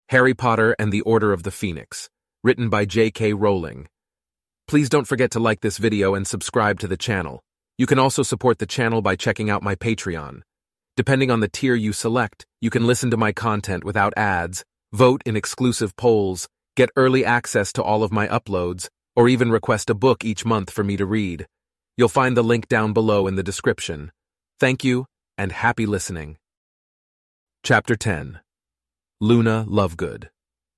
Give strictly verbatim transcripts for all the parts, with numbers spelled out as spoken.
Harry Potter and the Order of the Phoenix, written by J K Rowling. Please don't forget to like this video and subscribe to the channel. You can also support the channel by checking out my Patreon. Depending on the tier you select, you can listen to my content without ads, vote in exclusive polls, get early access to all of my uploads, or even request a book each month for me to read. You'll find the link down below in the description. Thank you, and happy listening. Chapter ten. Luna Lovegood.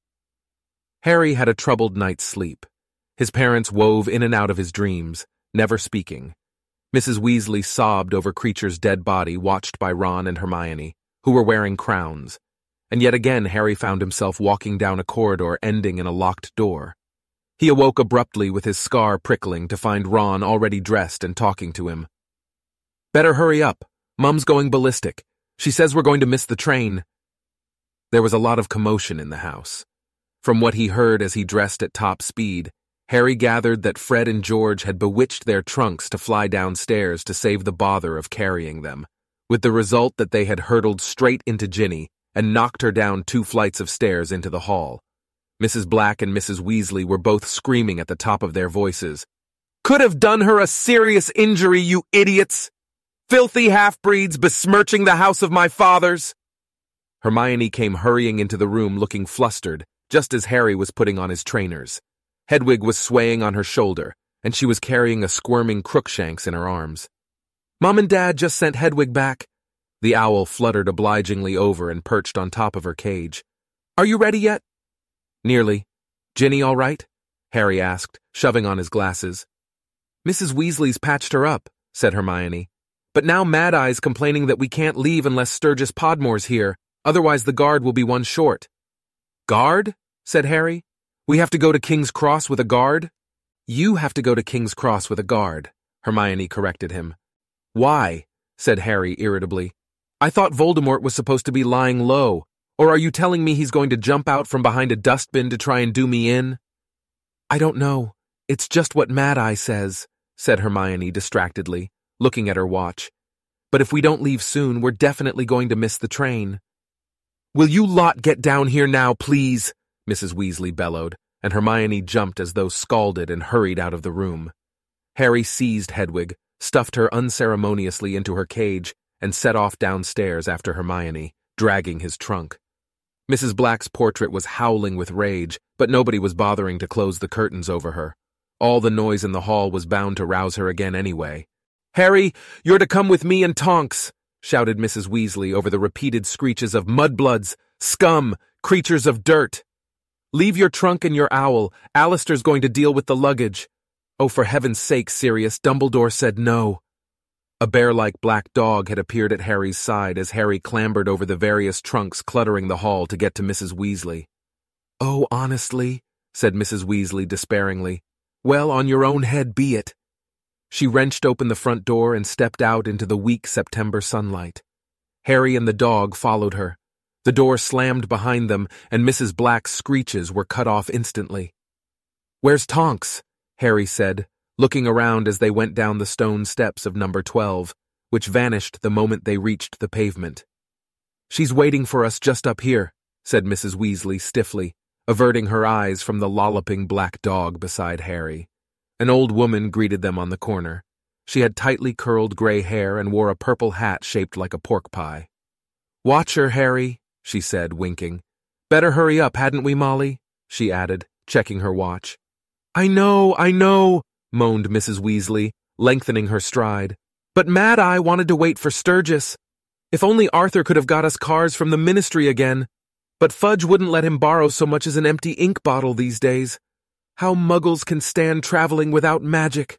Harry had a troubled night's sleep. His parents wove in and out of his dreams, never speaking. Missus Weasley sobbed over Kreacher's dead body, watched by Ron and Hermione, who were wearing crowns. And yet again Harry found himself walking down a corridor ending in a locked door. He awoke abruptly with his scar prickling to find Ron already dressed and talking to him. "Better hurry up. Mum's going ballistic. She says we're going to miss the train." There was a lot of commotion in the house. From what he heard as he dressed at top speed, Harry gathered that Fred and George had bewitched their trunks to fly downstairs to save the bother of carrying them, with the result that they had hurtled straight into Ginny and knocked her down two flights of stairs into the hall. Missus Black and Missus Weasley were both screaming at the top of their voices. "Could have done her a serious injury, you idiots! Filthy half-breeds besmirching the house of my fathers!" Hermione came hurrying into the room looking flustered, just as Harry was putting on his trainers. Hedwig was swaying on her shoulder, and she was carrying a squirming Crookshanks in her arms. "Mom and Dad just sent Hedwig back." The owl fluttered obligingly over and perched on top of her cage. "Are you ready yet?" "Nearly. Ginny all right?" Harry asked, shoving on his glasses. "Missus Weasley's patched her up," said Hermione. "But now Mad Eye's complaining that we can't leave unless Sturgis Podmore's here. Otherwise the guard will be one short." "Guard?" said Harry. "We have to go to King's Cross with a guard?" "You have to go to King's Cross with a guard," Hermione corrected him. "Why?" said Harry irritably. "I thought Voldemort was supposed to be lying low. Or are you telling me he's going to jump out from behind a dustbin to try and do me in?" "I don't know. It's just what Mad Eye says," said Hermione distractedly, looking at her watch. "But if we don't leave soon, we're definitely going to miss the train." "Will you lot get down here now, please?" Missus Weasley bellowed, and Hermione jumped as though scalded and hurried out of the room. Harry seized Hedwig, stuffed her unceremoniously into her cage, and set off downstairs after Hermione, dragging his trunk. Missus Black's portrait was howling with rage, but nobody was bothering to close the curtains over her. All the noise in the hall was bound to rouse her again anyway. "Harry, you're to come with me and Tonks!" shouted Missus Weasley over the repeated screeches of mudbloods, scum, creatures of dirt. "Leave your trunk and your owl. Alistair's going to deal with the luggage." "Oh, for heaven's sake, Sirius, Dumbledore said no." A bear-like black dog had appeared at Harry's side as Harry clambered over the various trunks cluttering the hall to get to Missus Weasley. "Oh, honestly," said Missus Weasley despairingly. "Well, on your own head be it." She wrenched open the front door and stepped out into the weak September sunlight. Harry and the dog followed her. The door slammed behind them, and Missus Black's screeches were cut off instantly. "Where's Tonks?" Harry said, looking around as they went down the stone steps of number twelve, which vanished the moment they reached the pavement. "She's waiting for us just up here," said Missus Weasley stiffly, averting her eyes from the lolloping black dog beside Harry. An old woman greeted them on the corner. She had tightly curled gray hair and wore a purple hat shaped like a pork pie. "Watch her, Harry," she said, winking. "Better hurry up, hadn't we, Molly?" she added, checking her watch. "I know, I know," moaned Missus Weasley, lengthening her stride. "But Mad Eye wanted to wait for Sturgis. If only Arthur could have got us cars from the Ministry again. But Fudge wouldn't let him borrow so much as an empty ink bottle these days. How muggles can stand traveling without magic."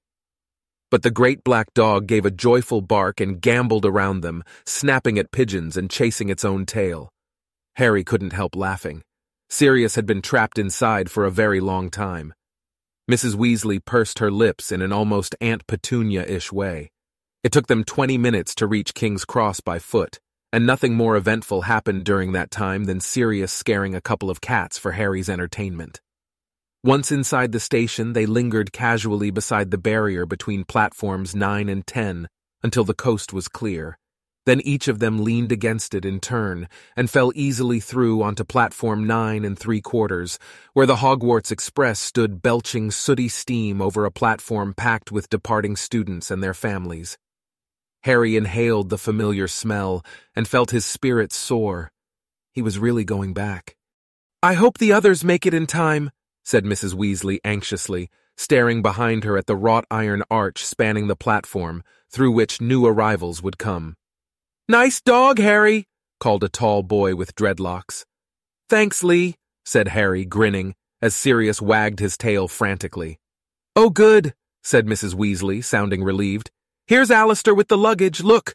But the great black dog gave a joyful bark and gamboled around them, snapping at pigeons and chasing its own tail. Harry couldn't help laughing. Sirius had been trapped inside for a very long time. Missus Weasley pursed her lips in an almost Aunt Petunia-ish way. It took them twenty minutes to reach King's Cross by foot, and nothing more eventful happened during that time than Sirius scaring a couple of cats for Harry's entertainment. Once inside the station, they lingered casually beside the barrier between platforms nine and ten until the coast was clear. Then each of them leaned against it in turn and fell easily through onto platform nine and three quarters, where the Hogwarts Express stood belching sooty steam over a platform packed with departing students and their families. Harry inhaled the familiar smell and felt his spirits soar. He was really going back. "I hope the others make it in time," said Missus Weasley anxiously, staring behind her at the wrought iron arch spanning the platform, through which new arrivals would come. "Nice dog, Harry," called a tall boy with dreadlocks. "Thanks, Lee," said Harry, grinning, as Sirius wagged his tail frantically. "Oh, good," said Missus Weasley, sounding relieved. "Here's Alistair with the luggage, look."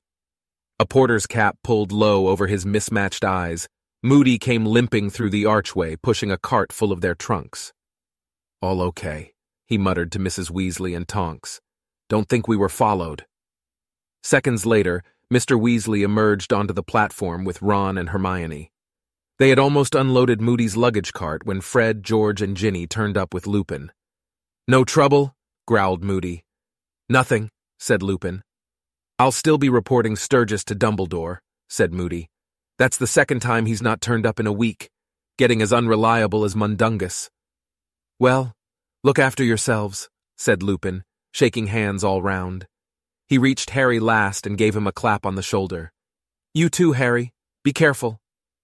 A porter's cap pulled low over his mismatched eyes. Moody came limping through the archway, pushing a cart full of their trunks. "All okay," he muttered to Missus Weasley and Tonks. "Don't think we were followed." Seconds later, Mister Weasley emerged onto the platform with Ron and Hermione. They had almost unloaded Moody's luggage cart when Fred, George, and Ginny turned up with Lupin. "No trouble?" growled Moody. "Nothing," said Lupin. "I'll still be reporting Sturgis to Dumbledore," said Moody. "That's the second time he's not turned up in a week, getting as unreliable as Mundungus." "Well, look after yourselves," said Lupin, shaking hands all round. He reached Harry last and gave him a clap on the shoulder. "You too, Harry. Be careful."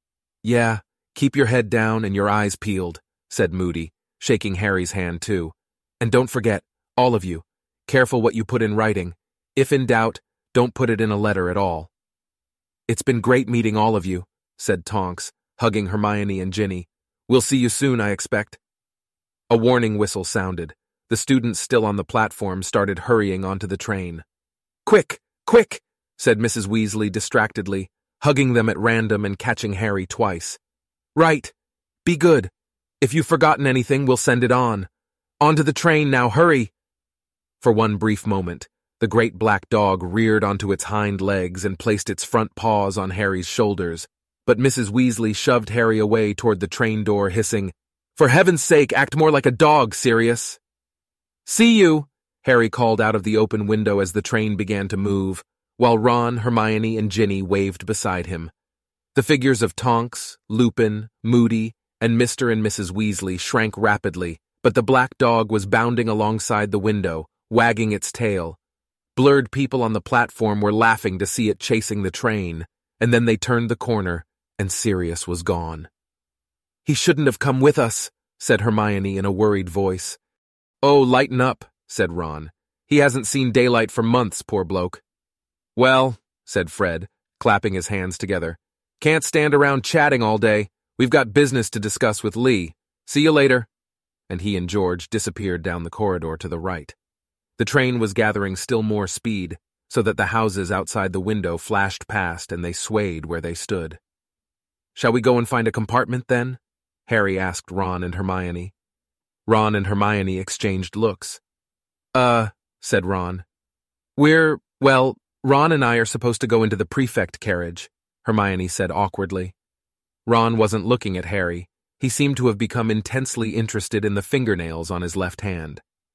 "Yeah, keep your head down and your eyes peeled," said Moody, shaking Harry's hand too. "And don't forget, all of you, careful what you put in writing. If in doubt, don't put it in a letter at all." "It's been great meeting all of you," said Tonks, hugging Hermione and Ginny. "We'll see you soon, I expect." A warning whistle sounded. The students still on the platform started hurrying onto the train. "Quick, quick," said Missus Weasley distractedly, hugging them at random and catching Harry twice. "Right. Be good. If you've forgotten anything, we'll send it on. Onto the train now, hurry." For one brief moment, the great black dog reared onto its hind legs and placed its front paws on Harry's shoulders, but Missus Weasley shoved Harry away toward the train door, hissing, "For heaven's sake, act more like a dog, Sirius." "See you," Harry called out of the open window as the train began to move, while Ron, Hermione, and Ginny waved beside him. The figures of Tonks, Lupin, Moody, and Mister and Missus Weasley shrank rapidly, but the black dog was bounding alongside the window, wagging its tail. Blurred people on the platform were laughing to see it chasing the train, and then they turned the corner, and Sirius was gone. "He shouldn't have come with us," said Hermione in a worried voice. "Oh, lighten up," said Ron. "He hasn't seen daylight for months, poor bloke." "Well," said Fred, clapping his hands together, "can't stand around chatting all day. We've got business to discuss with Lee. See you later." And he and George disappeared down the corridor to the right. The train was gathering still more speed, so that the houses outside the window flashed past and they swayed where they stood. "Shall we go and find a compartment, then?" Harry asked Ron and Hermione. Ron and Hermione exchanged looks. Uh, said Ron. We're, well, Ron and I are supposed to go into the prefect carriage, Hermione said awkwardly. Ron wasn't looking at Harry. He seemed to have become intensely interested in the fingernails on his left hand.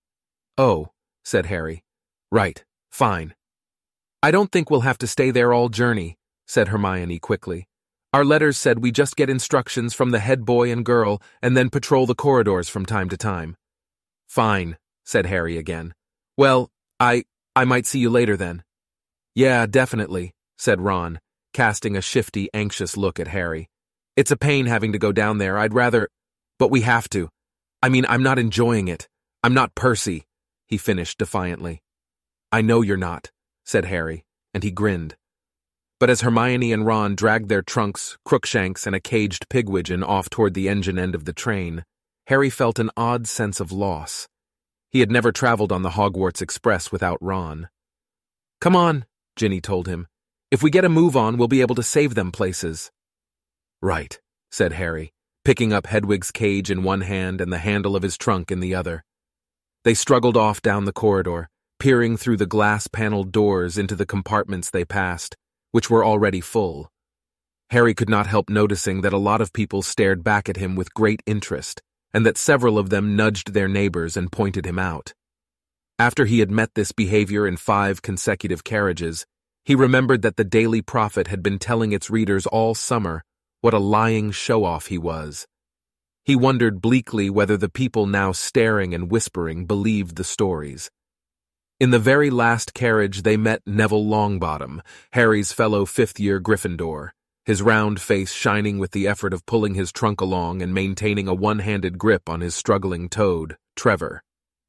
Oh, said Harry. Right, fine. I don't think we'll have to stay there all journey, said Hermione quickly. Our letters said we just get instructions from the head boy and girl and then patrol the corridors from time to time. Fine, said Harry again. Well, I, I might see you later then. Yeah, definitely, said Ron, casting a shifty, anxious look at Harry. It's a pain having to go down there. I'd rather... But we have to. I mean, I'm not enjoying it. I'm not Percy, he finished defiantly. I know you're not, said Harry, and he grinned. But as Hermione and Ron dragged their trunks, Crookshanks, and a caged Pigwidgeon off toward the engine end of the train, Harry felt an odd sense of loss. He had never traveled on the Hogwarts Express without Ron. Come on, Ginny told him. If we get a move on, we'll be able to save them places. Right, said Harry, picking up Hedwig's cage in one hand and the handle of his trunk in the other. They struggled off down the corridor, peering through the glass-paneled doors into the compartments they passed, which were already full. Harry could not help noticing that a lot of people stared back at him with great interest, and that several of them nudged their neighbors and pointed him out. After he had met this behavior in five consecutive carriages, He remembered that the Daily Prophet had been telling its readers all summer what a lying show-off he was. He wondered bleakly whether the people now staring and whispering believed the stories. In the very last carriage they met Neville Longbottom, Harry's fellow fifth-year Gryffindor, his round face shining with the effort of pulling his trunk along and maintaining a one-handed grip on his struggling toad, Trevor.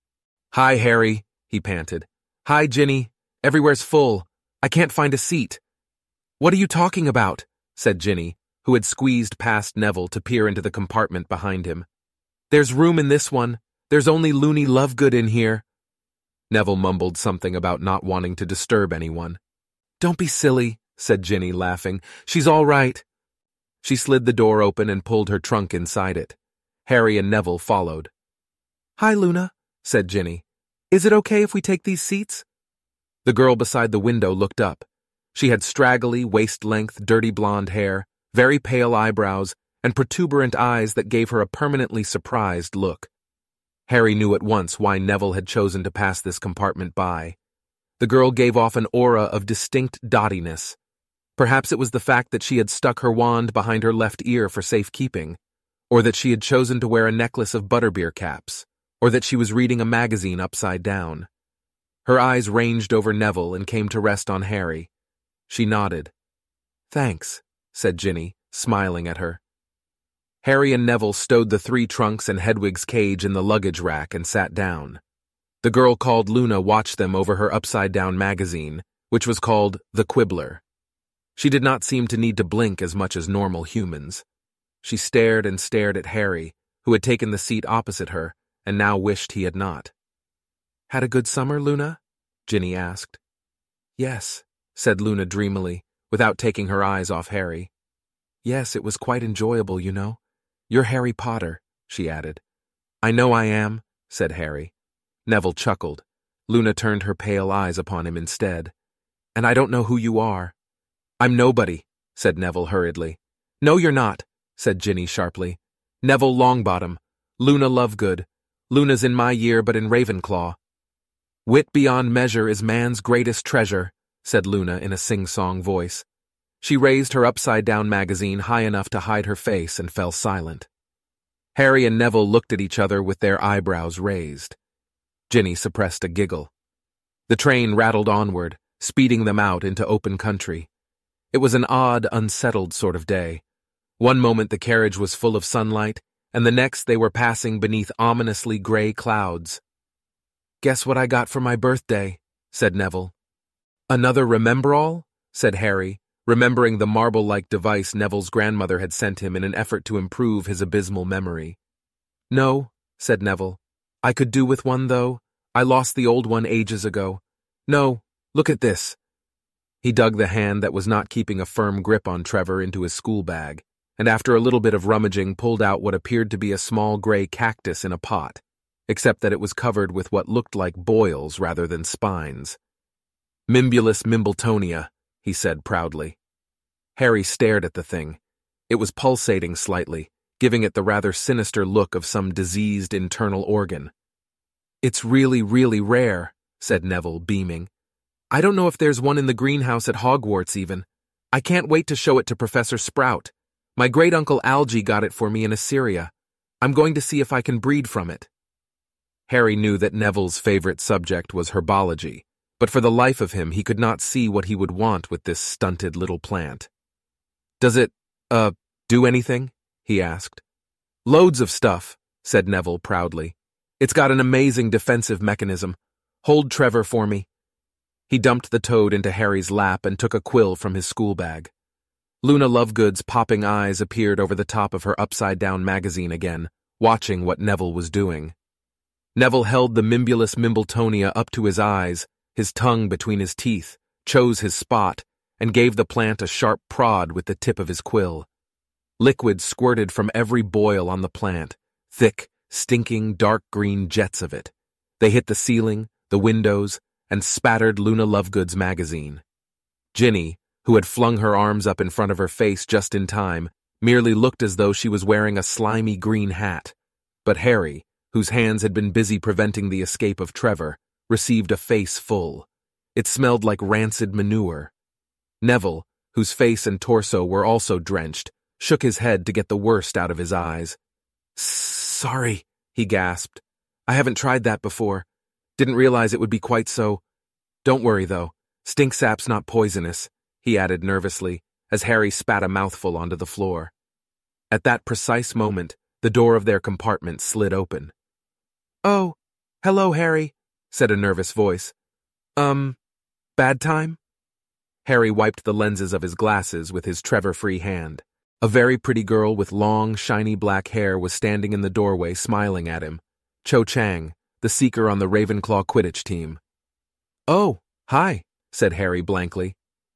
"Hi, Harry," he panted. "Hi, Ginny. Everywhere's full. I can't find a seat." "What are you talking about?" said Ginny, who had squeezed past Neville to peer into the compartment behind him. "There's room in this one. There's only Loony Lovegood in here." Neville mumbled something about not wanting to disturb anyone. "Don't be silly," said Ginny, laughing. "She's all right." She slid the door open and pulled her trunk inside it. Harry and Neville followed. "Hi, Luna," said Ginny. "Is it okay if we take these seats?" The girl beside the window looked up. She had straggly, waist-length, dirty blonde hair, very pale eyebrows, and protuberant eyes that gave her a permanently surprised look. Harry knew at once why Neville had chosen to pass this compartment by. The girl gave off an aura of distinct dottiness. Perhaps it was the fact that she had stuck her wand behind her left ear for safekeeping, or that she had chosen to wear a necklace of butterbeer caps, or that she was reading a magazine upside down. Her eyes ranged over Neville and came to rest on Harry. She nodded. "Thanks," said Ginny, smiling at her. Harry and Neville stowed the three trunks and Hedwig's cage in the luggage rack and sat down. The girl called Luna watched them over her upside-down magazine, which was called The Quibbler. She did not seem to need to blink as much as normal humans. She stared and stared at Harry, who had taken the seat opposite her, and now wished he had not. "Had a good summer, Luna?" Ginny asked. "Yes," said Luna dreamily, without taking her eyes off Harry. "Yes, it was quite enjoyable, you know. You're Harry Potter," she added. "I know I am," said Harry. Neville chuckled. Luna turned her pale eyes upon him instead. "And I don't know who you are." "I'm nobody," said Neville hurriedly. "No, you're not," said Ginny sharply. "Neville Longbottom. Luna Lovegood. Luna's in my year but in Ravenclaw." "Wit beyond measure is man's greatest treasure," said Luna in a sing-song voice. She raised her upside-down magazine high enough to hide her face and fell silent. Harry and Neville looked at each other with their eyebrows raised. Ginny suppressed a giggle. The train rattled onward, speeding them out into open country. It was an odd, unsettled sort of day. One moment the carriage was full of sunlight, and the next they were passing beneath ominously gray clouds. "Guess what I got for my birthday," said Neville. "Another Remembrall?" said Harry, remembering the marble-like device Neville's grandmother had sent him in an effort to improve his abysmal memory. "No," said Neville. "I could do with one, though. I lost the old one ages ago. No, look at this." He dug the hand that was not keeping a firm grip on Trevor into his school bag, and after a little bit of rummaging pulled out what appeared to be a small gray cactus in a pot, except that it was covered with what looked like boils rather than spines. "Mimbulus Mimbletonia," he said proudly. Harry stared at the thing. It was pulsating slightly, giving it the rather sinister look of some diseased internal organ. "It's really, really rare," said Neville, beaming. "I don't know if there's one in the greenhouse at Hogwarts even. I can't wait to show it to Professor Sprout. My great-uncle Algy got it for me in Assyria. I'm going to see if I can breed from it." Harry knew that Neville's favorite subject was herbology, but for the life of him he could not see what he would want with this stunted little plant. "Does it, uh, do anything?" he asked. "Loads of stuff," said Neville proudly. "It's got an amazing defensive mechanism. Hold Trevor for me." He dumped the toad into Harry's lap and took a quill from his school bag. Luna Lovegood's popping eyes appeared over the top of her upside-down magazine again, watching what Neville was doing. Neville held the Mimbulus Mimbletonia up to his eyes, his tongue between his teeth, chose his spot, and gave the plant a sharp prod with the tip of his quill. Liquid squirted from every boil on the plant, thick, stinking, dark green jets of it. They hit the ceiling, the windows, and spattered Luna Lovegood's magazine. Ginny, who had flung her arms up in front of her face just in time, merely looked as though she was wearing a slimy green hat. But Harry, whose hands had been busy preventing the escape of Trevor, received a face full. It smelled like rancid manure. Neville, whose face and torso were also drenched, shook his head to get the worst out of his eyes. "Sorry," he gasped. "I haven't tried that before. Didn't realize it would be quite so. Don't worry, though. Stinksap's not poisonous," he added nervously, as Harry spat a mouthful onto the floor. At that precise moment, the door of their compartment slid open. "Oh, hello, Harry," said a nervous voice. Um, bad time?" Harry wiped the lenses of his glasses with his Trevor-free hand. A very pretty girl with long, shiny black hair was standing in the doorway smiling at him. Cho Chang, the seeker on the Ravenclaw Quidditch team. "Oh, hi," said Harry blankly.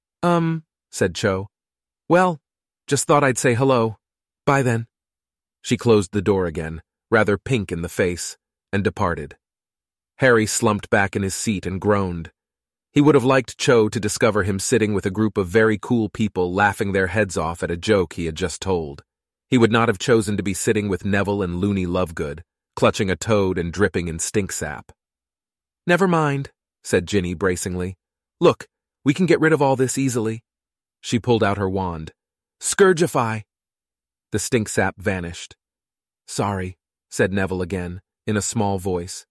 Um, said Cho. "Well, just thought I'd say hello. Bye then." She closed the door again, rather pink in the face, and departed. Harry slumped back in his seat and groaned. He would have liked Cho to discover him sitting with a group of very cool people laughing their heads off at a joke he had just told. He would not have chosen to be sitting with Neville and Loony Lovegood, clutching a toad and dripping in stinksap. "Never mind," said Ginny bracingly. "Look, we can get rid of all this easily." She pulled out her wand. "Scourgify!" The stinksap vanished. "Sorry," said Neville again, in a small voice.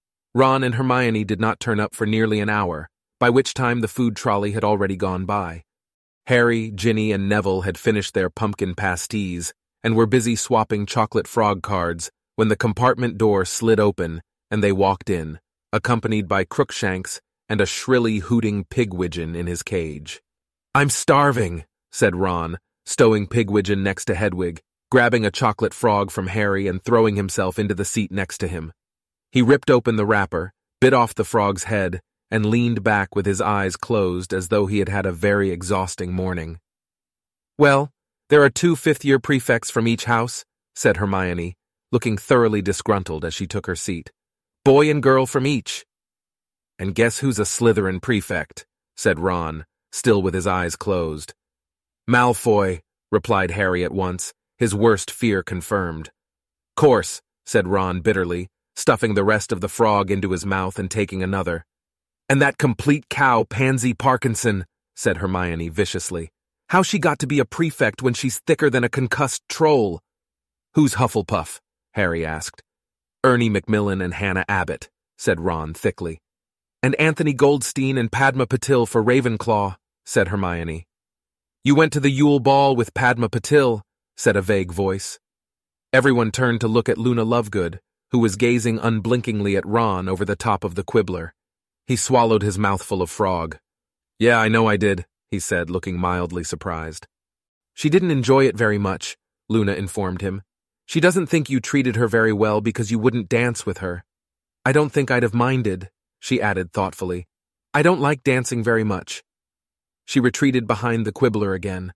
Ron and Hermione did not turn up for nearly an hour, by which time the food trolley had already gone by. Harry, Ginny, and Neville had finished their pumpkin pasties and were busy swapping chocolate frog cards when the compartment door slid open and they walked in, accompanied by Crookshanks and a shrilly hooting Pigwidgeon in his cage. "I'm starving," said Ron, stowing Pigwidgeon next to Hedwig, grabbing a chocolate frog from Harry and throwing himself into the seat next to him. He ripped open the wrapper, bit off the frog's head, and leaned back with his eyes closed as though he had had a very exhausting morning. "Well, there are two fifth-year prefects from each house," said Hermione, looking thoroughly disgruntled as she took her seat. "Boy and girl from each." "And guess who's a Slytherin prefect?" said Ron, still with his eyes closed. "Malfoy," replied Harry at once, his worst fear confirmed. "Course," said Ron bitterly, stuffing the rest of the frog into his mouth and taking another. "And that complete cow, Pansy Parkinson," said Hermione viciously. "How she got to be a prefect when she's thicker than a concussed troll?" "Who's Hufflepuff?" Harry asked. "Ernie Macmillan and Hannah Abbott," said Ron thickly. "And Anthony Goldstein and Padma Patil for Ravenclaw," said Hermione. "You went to the Yule Ball with Padma Patil," said a vague voice. Everyone turned to look at Luna Lovegood, who was gazing unblinkingly at Ron over the top of the quibbler. He swallowed his mouthful of frog. "Yeah, I know I did," he said, looking mildly surprised. "She didn't enjoy it very much," Luna informed him. "She doesn't think you treated her very well because you wouldn't dance with her. I don't think I'd have minded," she added thoughtfully. "I don't like dancing very much." She retreated behind the quibbler again.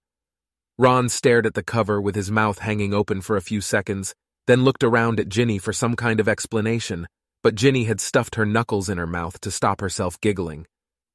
Ron stared at the cover with his mouth hanging open for a few seconds, then looked around at Ginny for some kind of explanation, but Ginny had stuffed her knuckles in her mouth to stop herself giggling.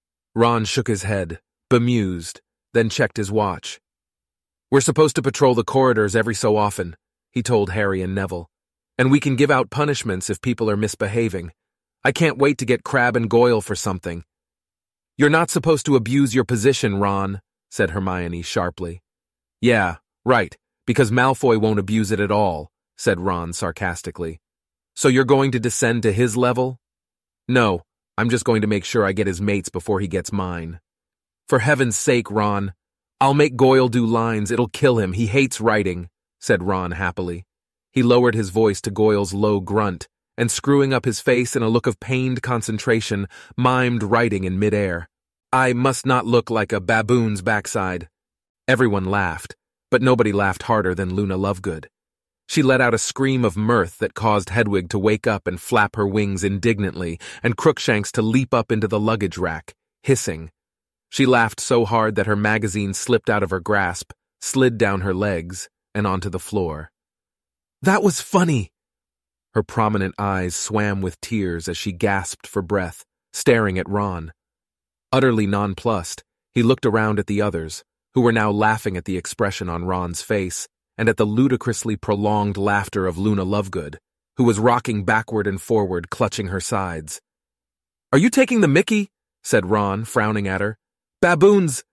Ron shook his head, bemused, then checked his watch. "We're supposed to patrol the corridors every so often," he told Harry and Neville, "and we can give out punishments if people are misbehaving. I can't wait to get Crabbe and Goyle for something." "You're not supposed to abuse your position, Ron," said Hermione sharply. "Yeah, right, because Malfoy won't abuse it at all," said Ron sarcastically. "So you're going to descend to his level?" "No, I'm just going to make sure I get his mates before he gets mine." "For heaven's sake, Ron. I'll make Goyle do lines, it'll kill him, he hates writing," said Ron happily. He lowered his voice to Goyle's low grunt, and screwing up his face in a look of pained concentration, mimed writing in midair. "I must not look like a baboon's backside." Everyone laughed, but nobody laughed harder than Luna Lovegood. She let out a scream of mirth that caused Hedwig to wake up and flap her wings indignantly, and Crookshanks to leap up into the luggage rack, hissing. She laughed so hard that her magazine slipped out of her grasp, slid down her legs, and onto the floor. "That was funny!" Her prominent eyes swam with tears as she gasped for breath, staring at Ron. Utterly nonplussed, he looked around at the others, who were now laughing at the expression on Ron's face, and at the ludicrously prolonged laughter of Luna Lovegood, who was rocking backward and forward, clutching her sides. "Are you taking the mickey?" said Ron, frowning at her. "Baboons!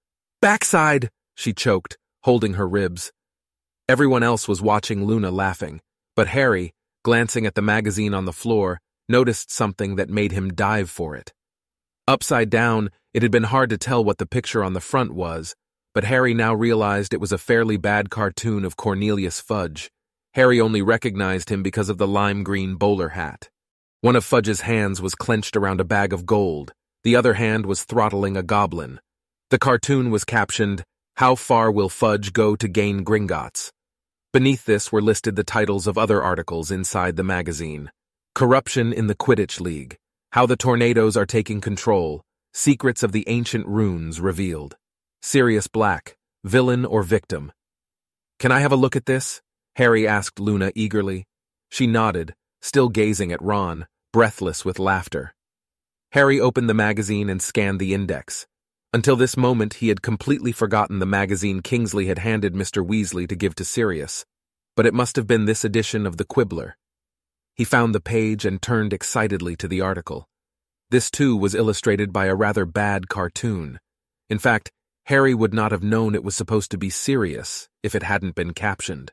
Backside, she choked, holding her ribs. Everyone else was watching Luna laughing, but Harry, glancing at the magazine on the floor, noticed something that made him dive for it. Upside down, it had been hard to tell what the picture on the front was, but Harry now realized it was a fairly bad cartoon of Cornelius Fudge. Harry only recognized him because of the lime-green bowler hat. One of Fudge's hands was clenched around a bag of gold. The other hand was throttling a goblin. The cartoon was captioned, "How far will Fudge go to gain Gringotts?" Beneath this were listed the titles of other articles inside the magazine. Corruption in the Quidditch League, How the Tornadoes Are Taking Control, Secrets of the Ancient Runes Revealed. Sirius Black, Villain or Victim. "Can I have a look at this?" Harry asked Luna eagerly. She nodded, still gazing at Ron, breathless with laughter. Harry opened the magazine and scanned the index. Until this moment, he had completely forgotten the magazine Kingsley had handed Mister Weasley to give to Sirius, but it must have been this edition of the Quibbler. He found the page and turned excitedly to the article. This, too, was illustrated by a rather bad cartoon. In fact, Harry would not have known it was supposed to be Sirius if it hadn't been captioned.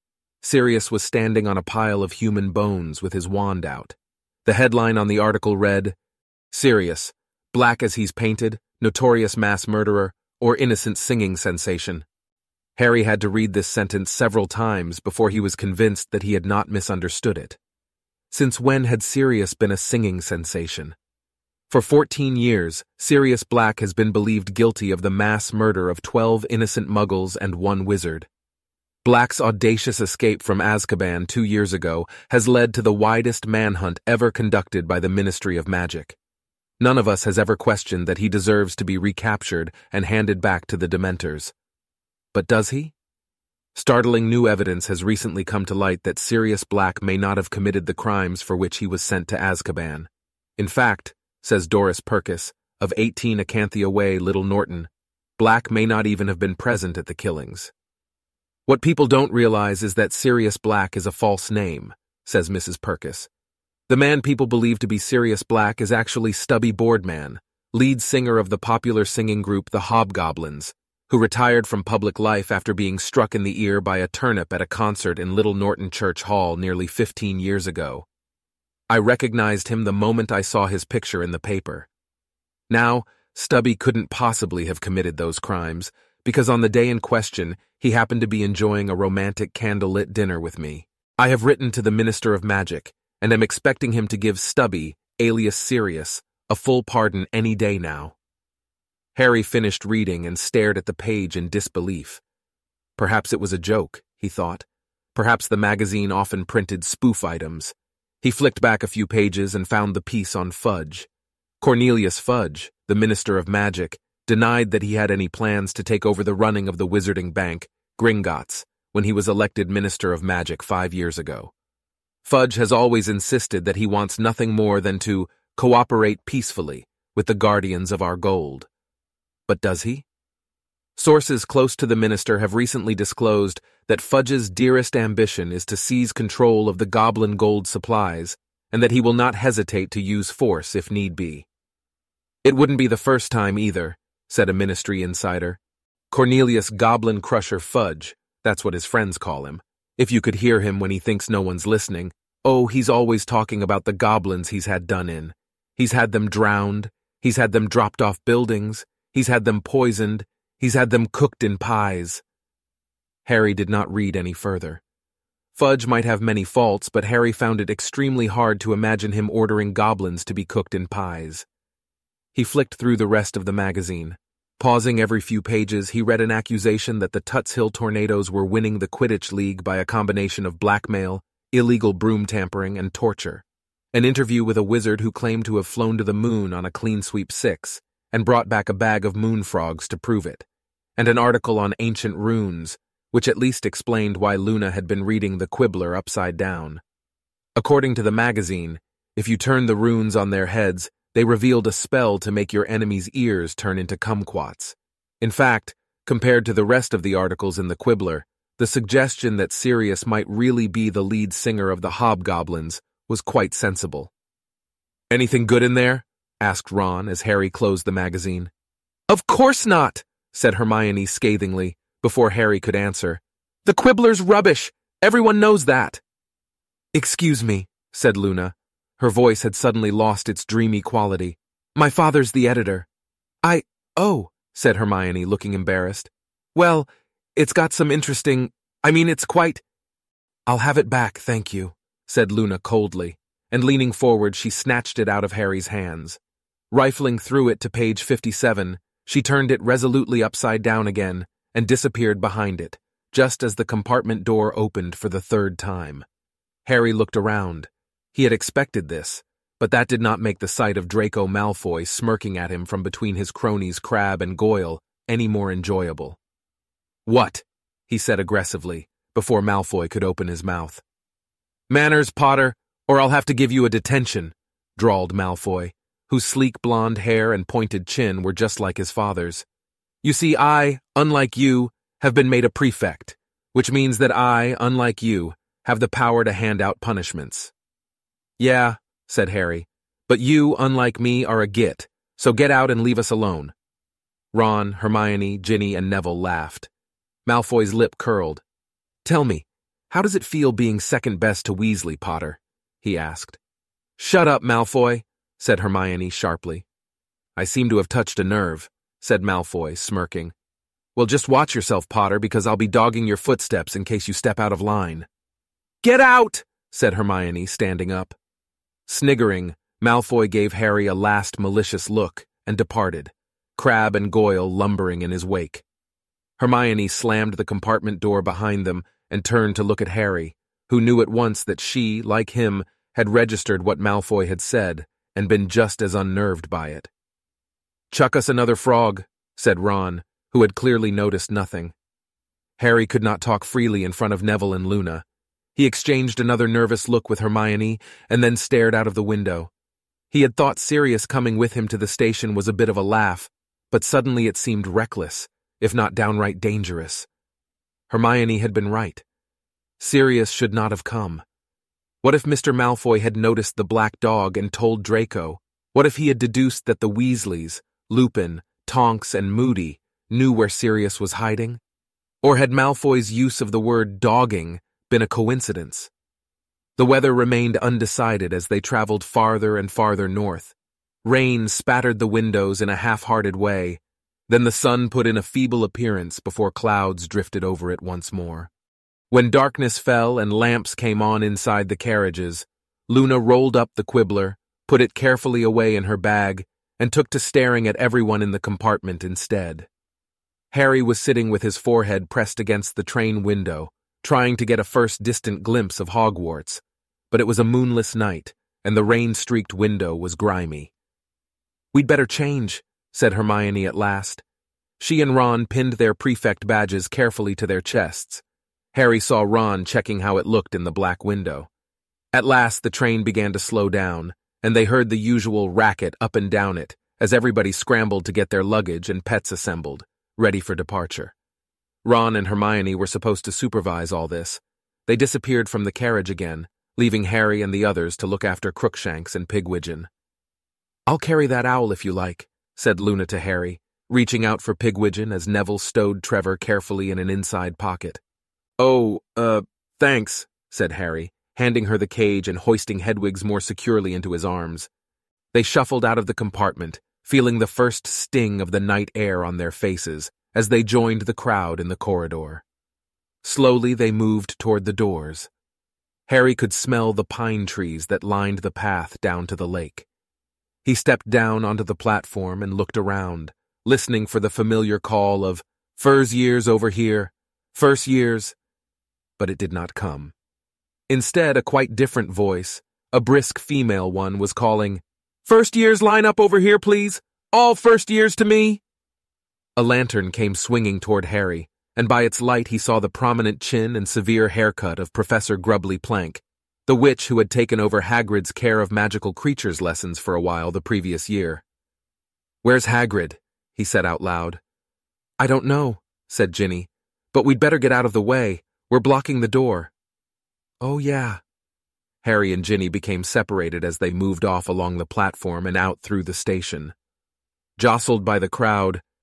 Sirius was standing on a pile of human bones with his wand out. The headline on the article read, "Sirius, black as he's painted, notorious mass murderer, or innocent singing sensation." Harry had to read this sentence several times before he was convinced that he had not misunderstood it. Since when had Sirius been a singing sensation? For fourteen years, Sirius Black has been believed guilty of the mass murder of twelve innocent muggles and one wizard. Black's audacious escape from Azkaban two years ago has led to the widest manhunt ever conducted by the Ministry of Magic. None of us has ever questioned that he deserves to be recaptured and handed back to the Dementors. But does he? Startling new evidence has recently come to light that Sirius Black may not have committed the crimes for which he was sent to Azkaban. In fact, says Doris Purkis, of eighteen Acanthia Way, Little Norton, Black may not even have been present at the killings. "What people don't realize is that Sirius Black is a false name," says Missus Purkis. "The man people believe to be Sirius Black is actually Stubby Boardman, lead singer of the popular singing group The Hobgoblins, who retired from public life after being struck in the ear by a turnip at a concert in Little Norton Church Hall nearly fifteen years ago. I recognized him the moment I saw his picture in the paper. Now, Stubby couldn't possibly have committed those crimes, because on the day in question, he happened to be enjoying a romantic candlelit dinner with me. I have written to the Minister of Magic, and am expecting him to give Stubby, alias Sirius, a full pardon any day now." Harry finished reading and stared at the page in disbelief. Perhaps it was a joke, he thought. Perhaps the magazine often printed spoof items. He flicked back a few pages and found the piece on Fudge. Cornelius Fudge, the Minister of Magic, denied that he had any plans to take over the running of the wizarding bank, Gringotts, when he was elected Minister of Magic five years ago. Fudge has always insisted that he wants nothing more than to cooperate peacefully with the guardians of our gold. But does he? Sources close to the minister have recently disclosed that Fudge's dearest ambition is to seize control of the goblin gold supplies, and that he will not hesitate to use force if need be. "It wouldn't be the first time either," said a ministry insider. "Cornelius Goblin Crusher Fudge, that's what his friends call him. If you could hear him when he thinks no one's listening, oh, he's always talking about the goblins he's had done in. He's had them drowned, he's had them dropped off buildings, he's had them poisoned, he's had them cooked in pies." Harry did not read any further. Fudge might have many faults, but Harry found it extremely hard to imagine him ordering goblins to be cooked in pies. He flicked through the rest of the magazine. Pausing every few pages, he read an accusation that the Tuts Hill Tornadoes were winning the Quidditch League by a combination of blackmail, illegal broom tampering, and torture. An interview with a wizard who claimed to have flown to the moon on a clean sweep six, and brought back a bag of moon frogs to prove it. And an article on ancient runes, which at least explained why Luna had been reading the Quibbler upside down. According to the magazine, if you turn the runes on their heads, they revealed a spell to make your enemy's ears turn into kumquats. In fact, compared to the rest of the articles in the Quibbler, the suggestion that Sirius might really be the lead singer of the Hobgoblins was quite sensible. "Anything good in there?" asked Ron as Harry closed the magazine. "Of course not," said Hermione scathingly, before Harry could answer. "The Quibbler's rubbish! Everyone knows that!" "Excuse me," said Luna. Her voice had suddenly lost its dreamy quality. "My father's the editor." I, oh, said Hermione, looking embarrassed. "Well, it's got some interesting, I mean, it's quite—" "I'll have it back, thank you," said Luna coldly, and leaning forward she snatched it out of Harry's hands. Rifling through it to page fifty-seven, she turned it resolutely upside down again and disappeared behind it, just as the compartment door opened for the third time. Harry looked around. He had expected this, but that did not make the sight of Draco Malfoy smirking at him from between his cronies Crabbe and Goyle any more enjoyable. "What?" he said aggressively, before Malfoy could open his mouth. "Manners, Potter, or I'll have to give you a detention," drawled Malfoy, whose sleek blonde hair and pointed chin were just like his father's. "You see, I, unlike you, have been made a prefect, which means that I, unlike you, have the power to hand out punishments." "Yeah," said Harry, "but you, unlike me, are a git, so get out and leave us alone." Ron, Hermione, Ginny, and Neville laughed. Malfoy's lip curled. "Tell me, how does it feel being second best to Weasley, Potter?" he asked. "Shut up, Malfoy," said Hermione sharply. "I seem to have touched a nerve," said Malfoy, smirking. "Well, just watch yourself, Potter, because I'll be dogging your footsteps in case you step out of line." "Get out!" said Hermione, standing up. Sniggering, Malfoy gave Harry a last malicious look and departed, Crabbe and Goyle lumbering in his wake. Hermione slammed the compartment door behind them and turned to look at Harry, who knew at once that she, like him, had registered what Malfoy had said and been just as unnerved by it. "Chuck us another frog," said Ron, who had clearly noticed nothing. Harry could not talk freely in front of Neville and Luna. He exchanged another nervous look with Hermione and then stared out of the window. He had thought Sirius coming with him to the station was a bit of a laugh, but suddenly it seemed reckless, if not downright dangerous. Hermione had been right. Sirius should not have come. What if Mister Malfoy had noticed the black dog and told Draco? What if he had deduced that the Weasleys, Lupin, Tonks, and Moody knew where Sirius was hiding? Or had Malfoy's use of the word dogging been a coincidence? The weather remained undecided as they traveled farther and farther north. Rain spattered the windows in a half-hearted way, then the sun put in a feeble appearance before clouds drifted over it once more. When darkness fell and lamps came on inside the carriages, Luna rolled up the Quibbler, put it carefully away in her bag, and took to staring at everyone in the compartment instead. Harry was sitting with his forehead pressed against the train window, trying to get a first distant glimpse of Hogwarts, but it was a moonless night, and the rain-streaked window was grimy. "We'd better change," said Hermione at last. She and Ron pinned their prefect badges carefully to their chests. Harry saw Ron checking how it looked in the black window. At last the train began to slow down, and they heard the usual racket up and down it as everybody scrambled to get their luggage and pets assembled, ready for departure. Ron and Hermione were supposed to supervise all this. They disappeared from the carriage again, leaving Harry and the others to look after Crookshanks and Pigwidgeon. "I'll carry that owl if you like," said Luna to Harry, reaching out for Pigwidgeon as Neville stowed Trevor carefully in an inside pocket. "Oh, uh, thanks," said Harry, handing her the cage and hoisting Hedwig's more securely into his arms. They shuffled out of the compartment, feeling the first sting of the night air on their faces as they joined the crowd in the corridor. Slowly they moved toward the doors. Harry could smell the pine trees that lined the path down to the lake. He stepped down onto the platform and looked around, listening for the familiar call of, "First years over here, first years," but it did not come. Instead, a quite different voice, a brisk female one, was calling, "First years line up over here, please. All first years to me." A lantern came swinging toward Harry, and by its light he saw the prominent chin and severe haircut of Professor Grubbly Plank, the witch who had taken over Hagrid's care of magical creatures lessons for a while the previous year. "Where's Hagrid?" he said out loud. "I don't know," said Ginny, "but we'd better get out of the way. We're blocking the door." "Oh, yeah." Harry and Ginny became separated as they moved off along the platform and out through the station. Jostled by the crowd,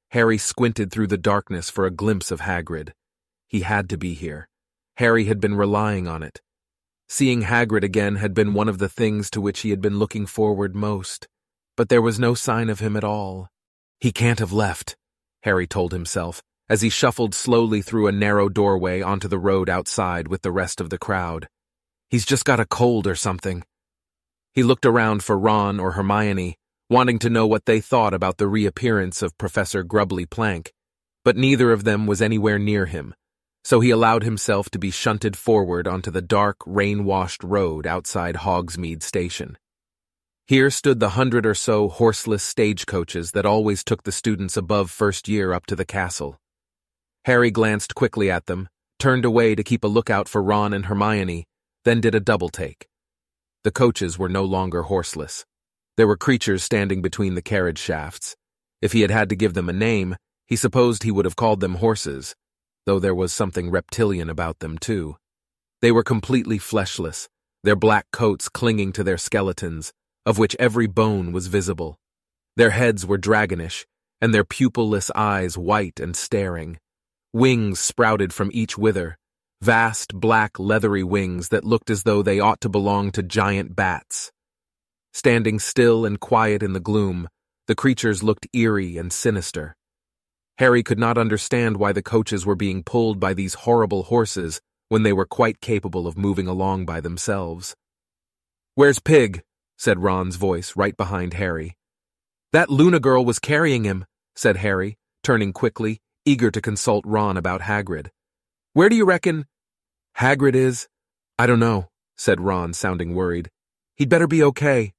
Harry squinted through the darkness for a glimpse of Hagrid. He had to be here. Harry had been relying on it. Seeing Hagrid again had been one of the things to which he had been looking forward most, but there was no sign of him at all. He can't have left, Harry told himself, as he shuffled slowly through a narrow doorway onto the road outside with the rest of the crowd. He's just got a cold or something. He looked around for Ron or Hermione, wanting to know what they thought about the reappearance of Professor Grubbly Plank, but neither of them was anywhere near him, so he allowed himself to be shunted forward onto the dark, rain-washed road outside Hogsmeade Station. Here stood the hundred or so horseless stagecoaches that always took the students above first year up to the castle. Harry glanced quickly at them, turned away to keep a lookout for Ron and Hermione, then did a double-take. The coaches were no longer horseless. There were creatures standing between the carriage shafts. If he had had to give them a name, he supposed he would have called them horses, though there was something reptilian about them too. They were completely fleshless, their black coats clinging to their skeletons, of which every bone was visible. Their heads were dragonish, and their pupil-less eyes white and staring. Wings sprouted from each wither, vast black leathery wings that looked as though they ought to belong to giant bats. Standing still and quiet in the gloom, the creatures looked eerie and sinister. Harry could not understand why the coaches were being pulled by these horrible horses when they were quite capable of moving along by themselves. "Where's Pig?" said Ron's voice right behind Harry. "That Luna girl was carrying him," said Harry, turning quickly, eager to consult Ron about Hagrid. "Where do you reckon Hagrid is?" "I don't know," said Ron, sounding worried. "He'd better be okay."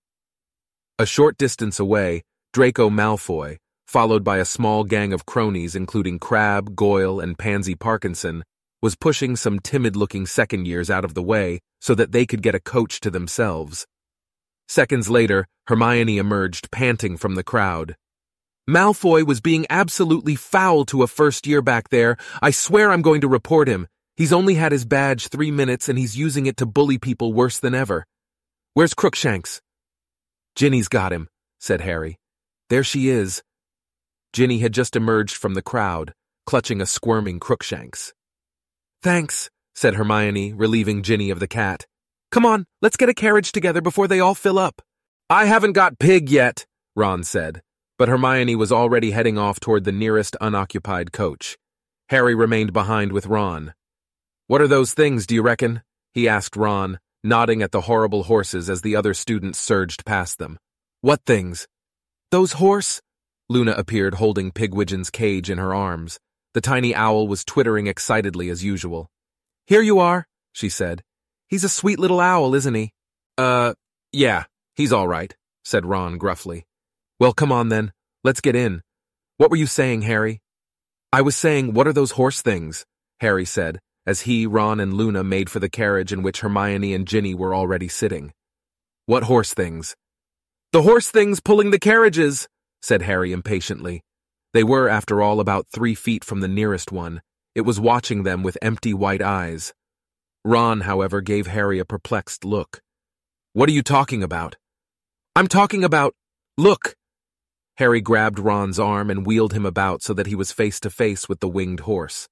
A short distance away, Draco Malfoy, followed by a small gang of cronies including Crabbe, Goyle, and Pansy Parkinson, was pushing some timid-looking second years out of the way so that they could get a coach to themselves. Seconds later, Hermione emerged, panting from the crowd. "Malfoy was being absolutely foul to a first year back there. I swear I'm going to report him. He's only had his badge three minutes and he's using it to bully people worse than ever. Where's Crookshanks?" "Ginny's got him," said Harry. "There she is." Ginny had just emerged from the crowd, clutching a squirming Crookshanks. "Thanks," said Hermione, relieving Ginny of the cat. "Come on, let's get a carriage together before they all fill up." "I haven't got Pig yet," Ron said, but Hermione was already heading off toward the nearest unoccupied coach. Harry remained behind with Ron. "What are those things, do you reckon?" he asked Ron, nodding at the horrible horses as the other students surged past them. "What things?" "Those horse—" Luna appeared holding Pigwidgeon's cage in her arms. The tiny owl was twittering excitedly as usual. "Here you are," she said. "He's a sweet little owl, isn't he?" Uh, yeah, he's all right," said Ron gruffly. "Well, come on then. Let's get in. What were you saying, Harry?" "I was saying, what are those horse things?" Harry said, as he, Ron, and Luna made for the carriage in which Hermione and Ginny were already sitting. "What horse things?" "The horse things pulling the carriages," said Harry impatiently. They were, after all, about three feet from the nearest one. It was watching them with empty white eyes. Ron, however, gave Harry a perplexed look. "What are you talking about?" "I'm talking about— Look!" Harry grabbed Ron's arm and wheeled him about so that he was face to face with the winged horse.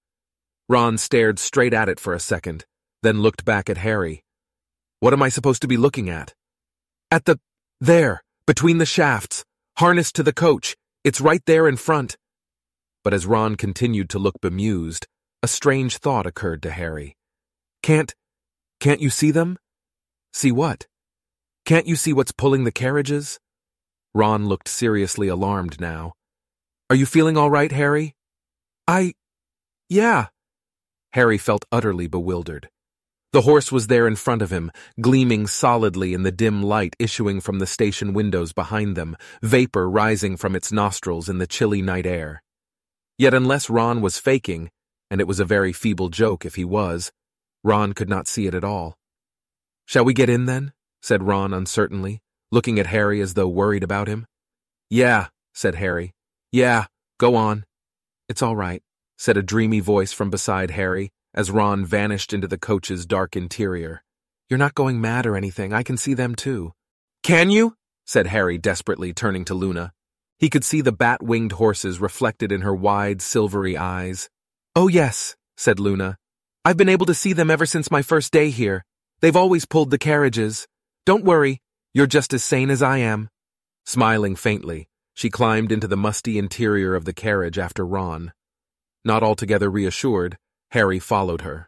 Ron stared straight at it for a second, then looked back at Harry. "What am I supposed to be looking at?" "At the— there, between the shafts, harnessed to the coach. It's right there in front." But as Ron continued to look bemused, a strange thought occurred to Harry. Can't, can't you see them?" "See what?" "Can't you see what's pulling the carriages?" Ron looked seriously alarmed now. "Are you feeling all right, Harry?" I... yeah." Harry felt utterly bewildered. The horse was there in front of him, gleaming solidly in the dim light issuing from the station windows behind them, vapor rising from its nostrils in the chilly night air. Yet unless Ron was faking, and it was a very feeble joke if he was, Ron could not see it at all. "Shall we get in then?" said Ron uncertainly, looking at Harry as though worried about him. "Yeah," said Harry. "Yeah, go on." "It's all right," said a dreamy voice from beside Harry, as Ron vanished into the coach's dark interior. "You're not going mad or anything. I can see them too." "Can you?" said Harry desperately, turning to Luna. He could see the bat-winged horses reflected in her wide, silvery eyes. "Oh yes," said Luna. "I've been able to see them ever since my first day here. They've always pulled the carriages. Don't worry, you're just as sane as I am." Smiling faintly, she climbed into the musty interior of the carriage after Ron. Not altogether reassured, Harry followed her.